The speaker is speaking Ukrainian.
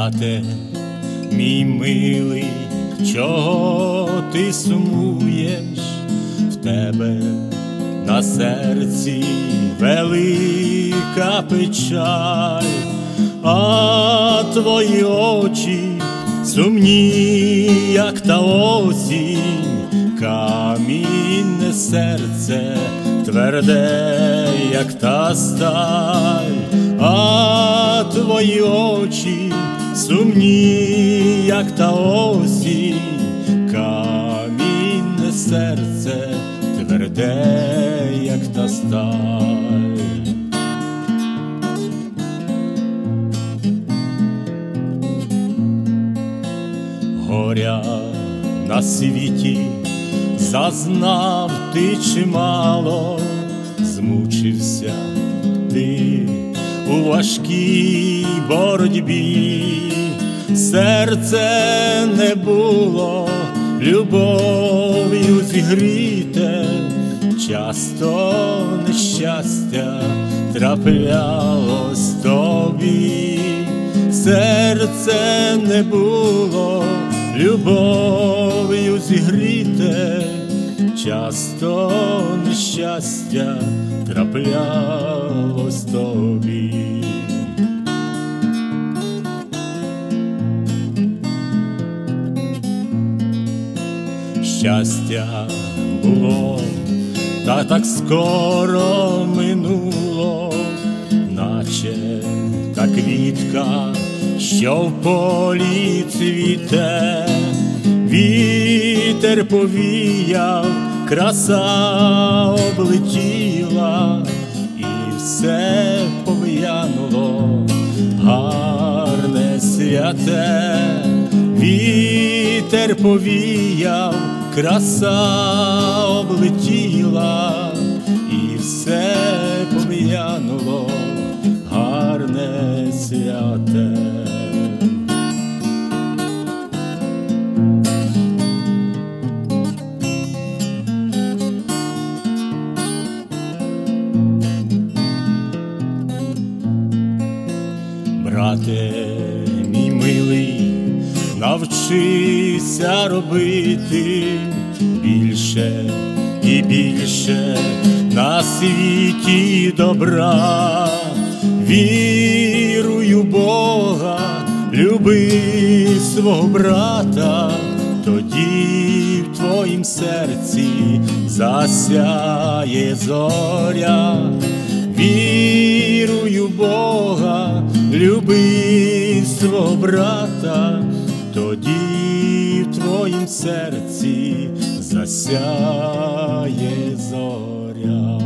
Брате, мій милий, чого ти сумуєш? В тебе на серці велика печаль, а твої очі сумні, як та осінь, камінне серце тверде, як та сталь, а твої очі сумні, як та осінь, камінне серце тверде, як та сталь. Горя на світі зазнав ти чимало, змучився ти у важкій боротьбі, серце не було любов'ю зігріте, часто нещастя траплялось тобі, серце не було любов'ю зігріте, часто нещастя траплялось тобі. Щастя було, та так скоро минуло, наче та квітка, що в полі цвіте, вітер повіяв, краса облетіла, і все пов'януло, гарне святе, вітер повіяв, краса облетіла, і все пов'януло, гарне святе. Брате, мій милий, навчися робити більше і більше на світі добра. Віруй у Бога, люби свого брата, тоді в твоїм серці засяє зоря. Віруй у Бога, люби свого брата, тоді в твоїм серці засяє зоря.